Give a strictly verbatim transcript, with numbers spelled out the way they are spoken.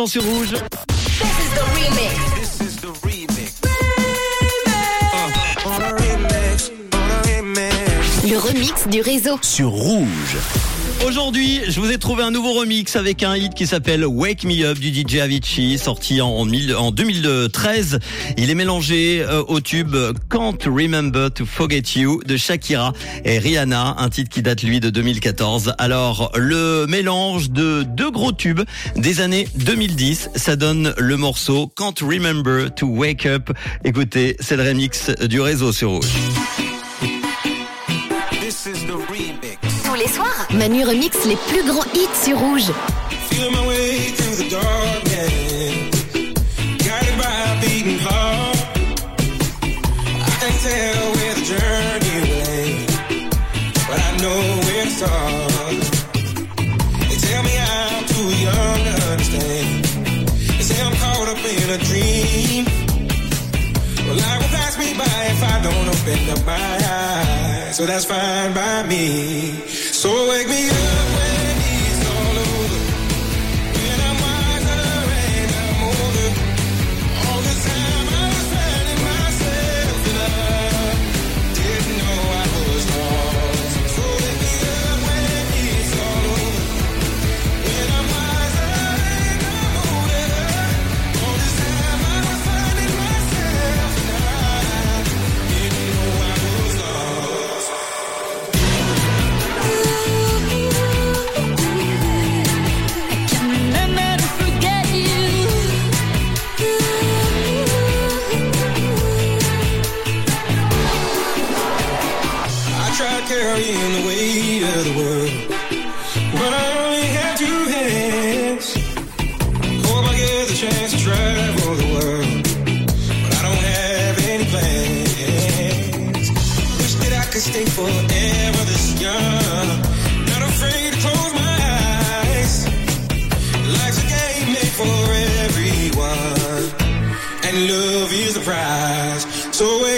maintenant sur Rouge. This is the remix. This is the remix. Uh. On a remix, on a remix. Le remix du réseau. Sur Rouge. Aujourd'hui, je vous ai trouvé un nouveau remix avec un hit qui s'appelle Wake Me Up du D J Avicii, sorti en, en deux mille treize. Il est mélangé euh, au tube Can't Remember to Forget You de Shakira et Rihanna, un titre qui date lui de deux mille quatorze. Alors, le mélange de deux gros tubes des années deux mille dix, ça donne le morceau Can't Remember to Wake Up. Écoutez, c'est le remix du réseau sur Rouge. This is the remix. Tous les soirs, Manu remix les plus grands hits sur Rouge. Feeling my way through the dark, yeah. Guided by a beating heart. I can't tell where the journey will end, but I know where to start. They tell me I'm too young to understand. They say I'm caught up in a dream. Well, life will pass me by if I don't open up my eyes. So that's fine by me. So wake me up when it's all over. When I'm wiser and I'm older. All this time I was finding myself and I didn't know I was lost. So wake me up when it's all over. When I'm wiser and I'm older. All this time I was finding myself and I didn't know I was lost. Carrying the weight of the world, but I only have two hands. Hope I get the chance to travel the world, but I don't have any plans. Wish that I could stay forever this young, not afraid to close my eyes. Life's a game made for everyone, and love is the prize. So